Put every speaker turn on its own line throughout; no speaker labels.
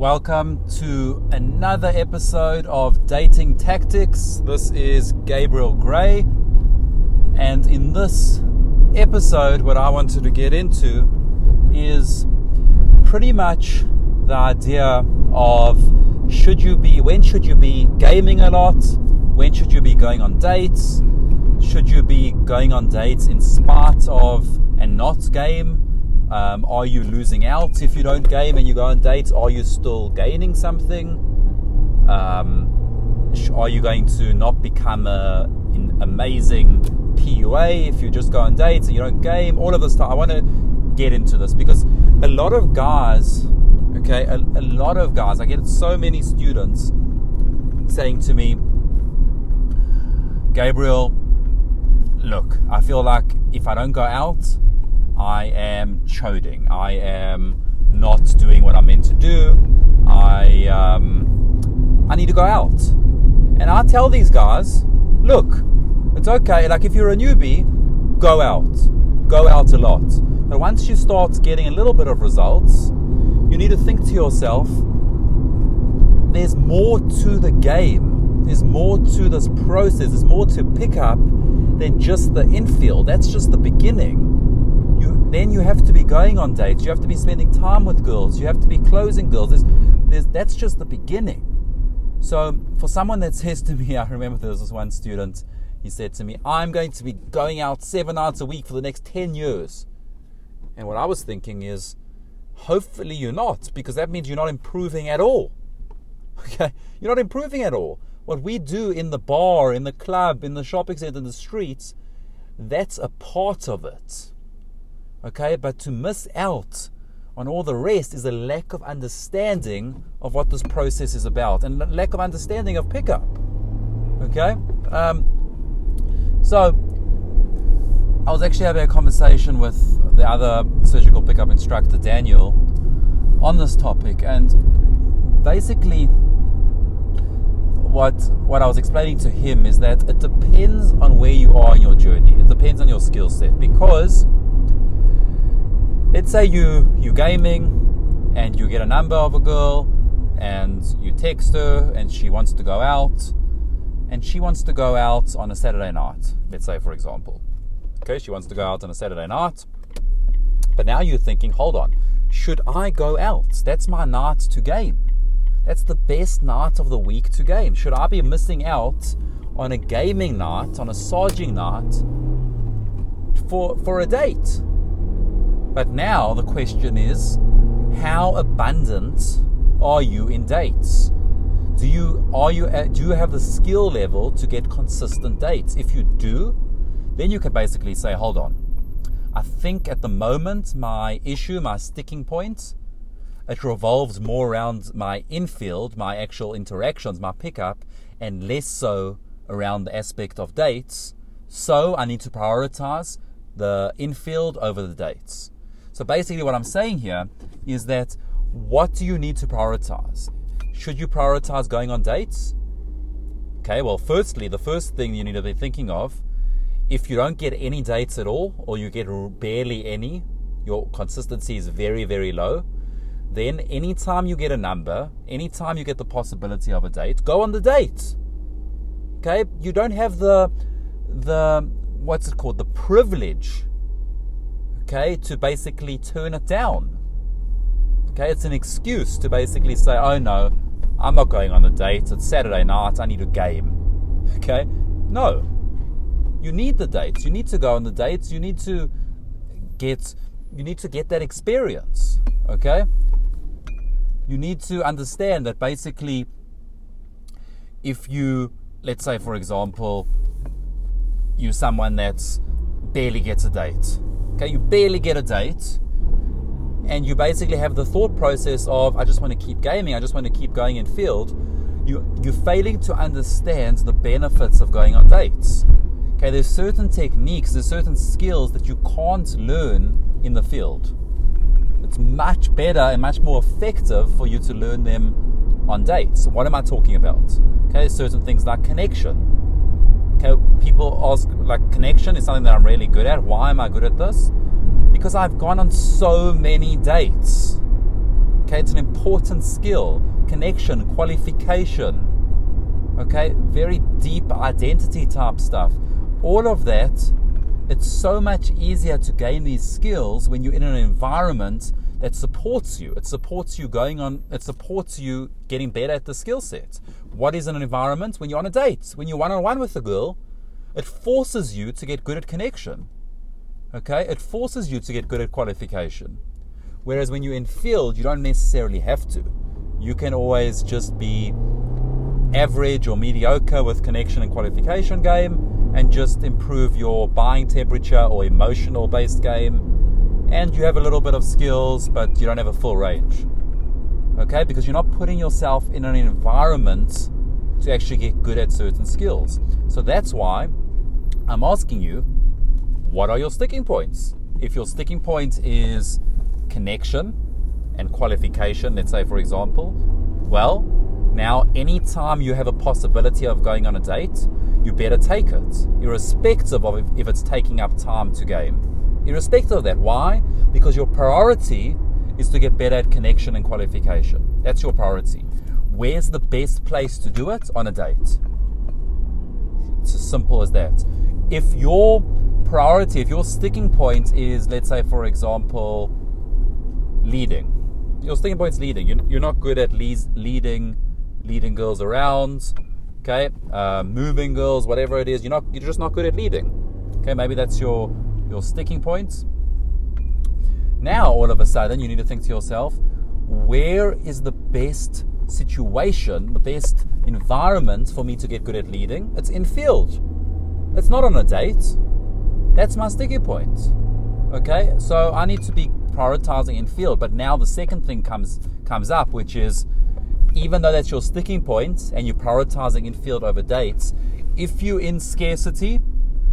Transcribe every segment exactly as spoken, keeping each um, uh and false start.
Welcome to another episode of Dating Tactics. This is Gabriel Gray, and in this episode what I wanted to get into is pretty much the idea of should you be, when should you be gaming a lot, when should you be going on dates, should you be going on dates in spite of and not game. Um, are you losing out if you don't game and you go on dates? Are you still gaining something? Um, are you going to not become a, an amazing P U A if you just go on dates and you don't game? All of this stuff. I want to get into this because a lot of guys, okay, a, a lot of guys, I get so many students saying to me, Gabriel, look, I feel like if I don't go out, I am choding. I am not doing what I'm meant to do. I um, I need to go out. And I tell these guys, look, it's okay. Like if you're a newbie, go out. Go out a lot. But once you start getting a little bit of results, you need to think to yourself, there's more to the game. There's more to this process. There's more to pick up than just the infield. That's just the beginning. You, then you have to be going on dates. You have to be spending time with girls. You have to be closing girls. There's, there's, that's just the beginning. So for someone that says to me, I remember there was this one student, he said to me, I'm going to be going out seven nights a week for the next ten years. And what I was thinking is, hopefully you're not, because that means you're not improving at all. Okay? You're not improving at all. What we do in the bar, in the club, in the shopping center, in the streets, that's a part of it. Okay, but to miss out on all the rest is a lack of understanding of what this process is about and lack of understanding of pickup. Okay, um, so I was actually having a conversation with the other surgical pickup instructor, Daniel, on this topic, and basically what what I was explaining to him is that it depends on where you are in your journey. It depends on your skill set, because let's say you, you're gaming and you get a number of a girl and you text her and she wants to go out and she wants to go out on a Saturday night, let's say, for example. Okay, she wants to go out on a Saturday night, but now you're thinking, hold on, should I go out? That's my night to game. That's the best night of the week to game. Should I be missing out on a gaming night, on a sarging night for, for a date? But now the question is, how abundant are you in dates? Do you are you do you have the skill level to get consistent dates? If you do, then you can basically say, hold on, I think at the moment my issue, my sticking point, it revolves more around my infield, my actual interactions, my pickup, and less so around the aspect of dates. So I need to prioritize the infield over the dates. So basically what I'm saying here is that what do you need to prioritize? Should you prioritize going on dates? Okay, well, firstly, the first thing you need to be thinking of, if you don't get any dates at all, or you get barely any, your consistency is very, very low, then anytime you get a number, anytime you get the possibility of a date, go on the date. Okay, you don't have the, the what's it called, the privilege, okay, to basically turn it down. Okay, it's an excuse to basically say, oh no, I'm not going on a date, it's Saturday night, I need a game. Okay, no, you need the dates, you need to go on the dates, you need to get, you need to get that experience. Okay, you need to understand that basically, if you, let's say for example, you're someone that's barely gets a date. Okay, you barely get a date, and you basically have the thought process of, I just want to keep gaming, I just want to keep going in field. You, you're failing to understand the benefits of going on dates. Okay, there's certain techniques, there's certain skills that you can't learn in the field. It's much better and much more effective for you to learn them on dates. What am I talking about? Okay, certain things like connection. Okay, people ask, like, connection is something that I'm really good at. Why am I good at this? Because I've gone on so many dates. Okay, it's an important skill. Connection, qualification. Okay, very deep identity type stuff. All of that, it's so much easier to gain these skills when you're in an environment that supports you. It supports you going on, it supports you getting better at the skill set. What is an environment? When you're on a date, when you're one-on-one with a girl, it forces you to get good at connection. Okay, it forces you to get good at qualification. Whereas when you're in field, you don't necessarily have to. You can always just be average or mediocre with connection and qualification game and just improve your buying temperature or emotional based game. And you have a little bit of skills, but you don't have a full range. Okay, because you're not putting yourself in an environment to actually get good at certain skills. So that's why I'm asking you, what are your sticking points? If your sticking point is connection and qualification, let's say for example, well, now anytime you have a possibility of going on a date, you better take it, irrespective of if, if it's taking up time to game. Irrespective of that. Why? Because your priority is to get better at connection and qualification. That's your priority. Where's the best place to do it? On a date. It's as simple as that. If your priority, if your sticking point is, let's say for example, leading. Your sticking point is leading. You're, you're not good at lead, leading leading girls around, okay? Uh, moving girls, whatever it is. You're not. You're just not good at leading. Okay, maybe that's your your sticking point. Now, all of a sudden, you need to think to yourself, where is the best situation, the best environment for me to get good at leading? It's in field. It's not on a date. That's my sticking point. Okay, so I need to be prioritizing in field. But now the second thing comes comes up, which is, even though that's your sticking point and you're prioritizing in field over dates, if you're in scarcity,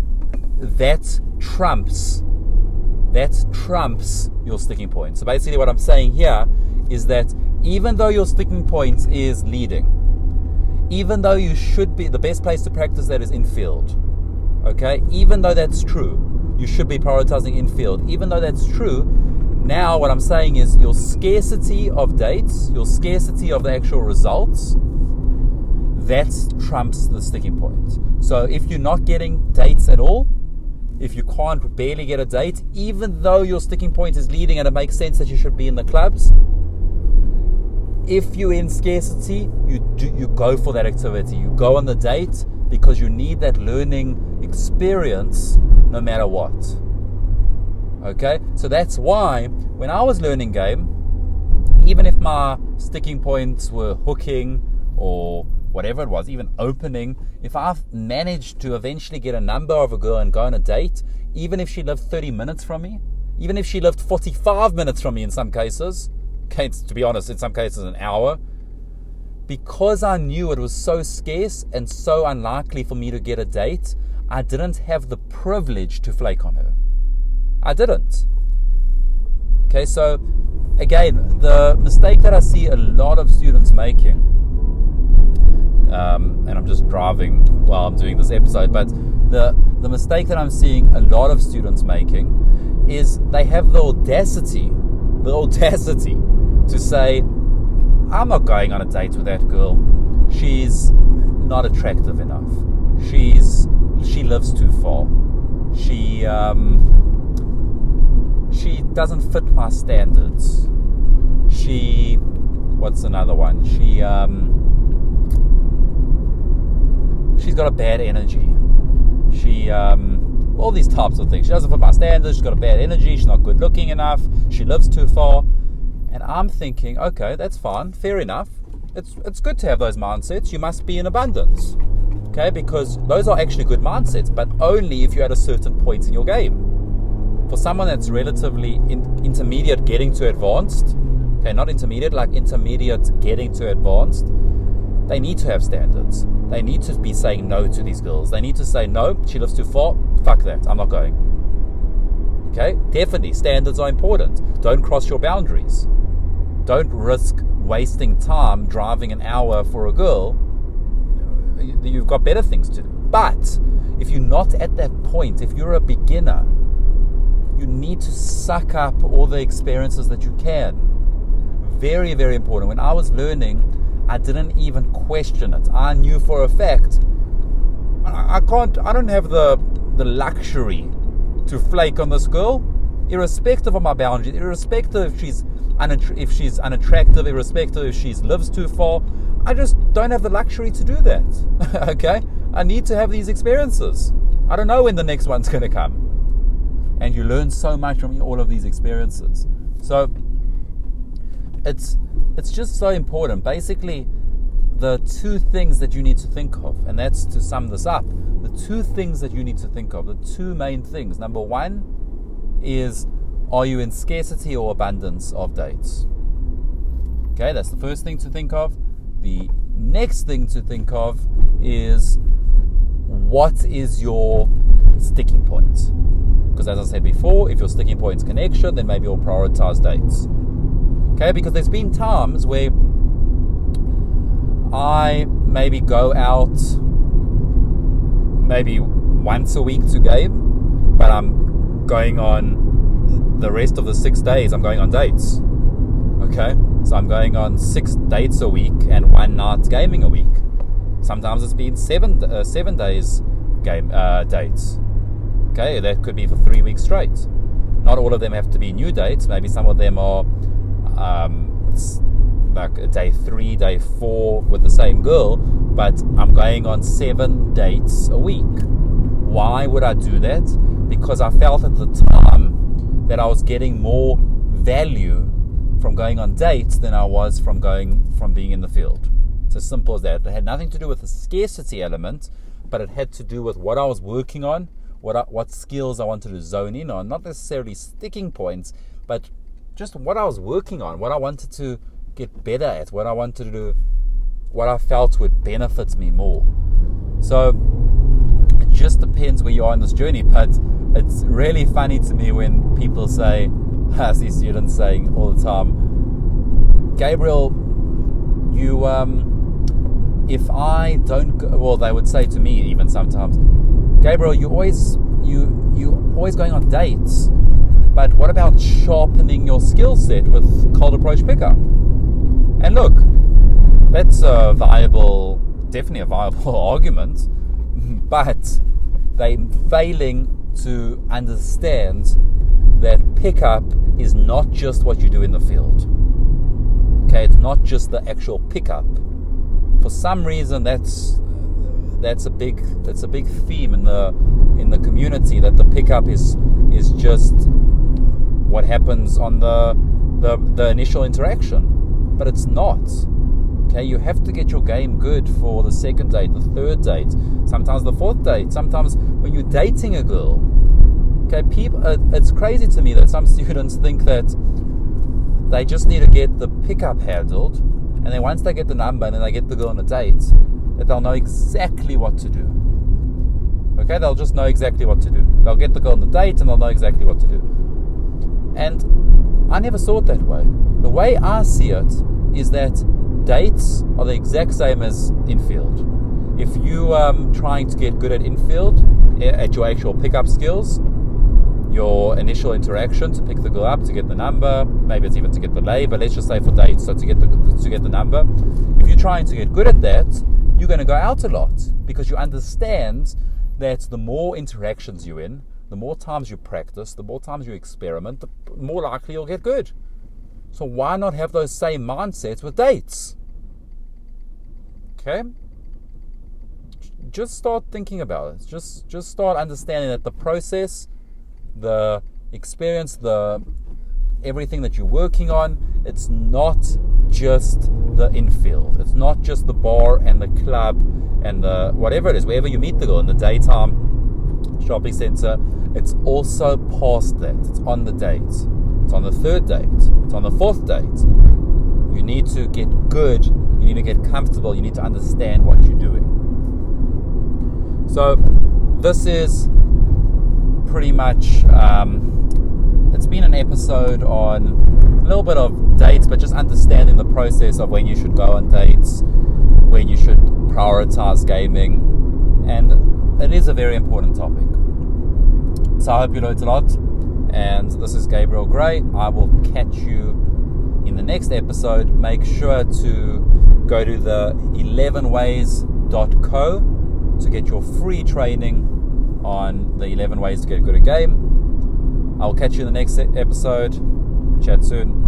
that trumps that trumps your sticking point. So basically what I'm saying here is that even though your sticking point is leading, even though you should be, the best place to practice that is in field, okay, even though that's true, you should be prioritizing in field. Even though that's true, now what I'm saying is your scarcity of dates, your scarcity of the actual results, that trumps the sticking point. So if you're not getting dates at all, if you can't barely get a date, even though your sticking point is leading and it makes sense that you should be in the clubs, if you're in scarcity, you do, you go for that activity. You go on the date because you need that learning experience no matter what. Okay? So that's why when I was learning game, even if my sticking points were hooking or whatever it was, even opening, if I've managed to eventually get a number of a girl and go on a date, even if she lived thirty minutes from me, even if she lived forty-five minutes from me in some cases, okay, to be honest, in some cases an hour, because I knew it was so scarce and so unlikely for me to get a date, I didn't have the privilege to flake on her. I didn't. Okay, so again, the mistake that I see a lot of students making, Um, and I'm just driving while I'm doing this episode, but the the mistake that I'm seeing a lot of students making is they have the audacity, the audacity to say, I'm not going on a date with that girl. She's not attractive enough. She's she lives too far. She um, she doesn't fit my standards. She, what's another one? She um. She's got a bad energy. She, um, all these types of things. She doesn't fit my standards. She's got a bad energy. She's not good looking enough. She lives too far. And I'm thinking, okay, that's fine. Fair enough. It's it's good to have those mindsets. You must be in abundance. Okay, because those are actually good mindsets, but only if you're at a certain point in your game. For someone that's relatively in, intermediate getting to advanced, okay, not intermediate, like intermediate getting to advanced, they need to have standards. They need to be saying no to these girls. They need to say, no, she lives too far. Fuck that. I'm not going. Okay? Definitely. Standards are important. Don't cross your boundaries. Don't risk wasting time driving an hour for a girl. You've got better things to do. But if you're not at that point, if you're a beginner, you need to suck up all the experiences that you can. very, very important. When I was learning, I didn't even question it. I knew for a fact I, I can't, I don't have the the luxury to flake on this girl, irrespective of my boundaries, irrespective if she's unatt- if she's unattractive, irrespective if she lives too far. I just don't have the luxury to do that. Okay? I need to have these experiences. I don't know when the next one's going to come. And you learn so much from all of these experiences. So it's it's just so important. Basically, the two things that you need to think of, and that's to sum this up, the two things that you need to think of, the two main things. Number one is, are you in scarcity or abundance of dates? Okay, that's the first thing to think of. The next thing to think of is, what is your sticking point? Because as I said before, if your sticking point is connection, then maybe you'll prioritize dates. Okay, because there's been times where I maybe go out maybe once a week to game, but I'm going on the rest of the six days, I'm going on dates. Okay, so I'm going on six dates a week and one night gaming a week. Sometimes it's been seven uh, seven days game uh, dates. Okay, that could be for three weeks straight. Not all of them have to be new dates. Maybe some of them are um, like day three, day four with the same girl, but I'm going on seven dates a week. Why would I do that? Because I felt at the time that I was getting more value from going on dates than I was from going from being in the field. It's as simple as that. It had nothing to do with the scarcity element, but it had to do with what I was working on, what I, what skills I wanted to zone in on, not necessarily sticking points, but just what I was working on, what I wanted to get better at, what I wanted to do, what I felt would benefit me more. So it just depends where you are in this journey, but it's really funny to me when people say, I see students saying all the time, Gabriel, you, um, if I don't go, well, they would say to me even sometimes, Gabriel, you always, you, you always going on dates, but what about sharpening your skill set with cold approach pickup? And look, that's a viable, definitely a viable argument, but they're failing to understand that pickup is not just what you do in the field. Okay, it's not just the actual pickup. For some reason, that's that's a big that's a big theme in the in the community, that the pickup is is just what happens on the the, the initial interaction, but it's not. Okay, you have to get your game good for the second date, the third date, sometimes the fourth date, sometimes when you're dating a girl. Okay, people, uh, it's crazy to me that some students think that they just need to get the pickup handled, and then once they get the number and then they get the girl on a date, that they'll know exactly what to do. Okay, they'll just know exactly what to do. They'll get the girl on the date and they'll know exactly what to do. And I never saw it that way. The way I see it is that dates are the exact same as infield. If you are um, trying to get good at infield, at your actual pickup skills, your initial interaction to pick the girl up, to get the number, maybe it's even to get the lay, but let's just say for dates, so to get the to get the number. If you're trying to get good at that, you're going to go out a lot, because you understand that the more interactions you're in, the more times you practice, the more times you experiment, the more likely you'll get good. So why not have those same mindsets with dates? Okay? Just start thinking about it. Just just start understanding that the process, the experience, the everything that you're working on, it's not just the infield. It's not just the bar and the club and the whatever it is, wherever you meet the girl in the daytime shopping center. It's also past that. It's on the date. It's on the third date. It's on the fourth date. You need to get good. You need to get comfortable. You need to understand what you're doing. So this is pretty much, um, it's been an episode on a little bit of dates, but just understanding the process of when you should go on dates, when you should prioritize gaming, and it is a very important topic. So I hope you learned a lot, and this is Gabriel Gray. I will catch you in the next next episode, make sure to go to the eleven ways dot co to get your free training on the eleven ways to get good at game. I'll catch you in the next episode. Chat soon.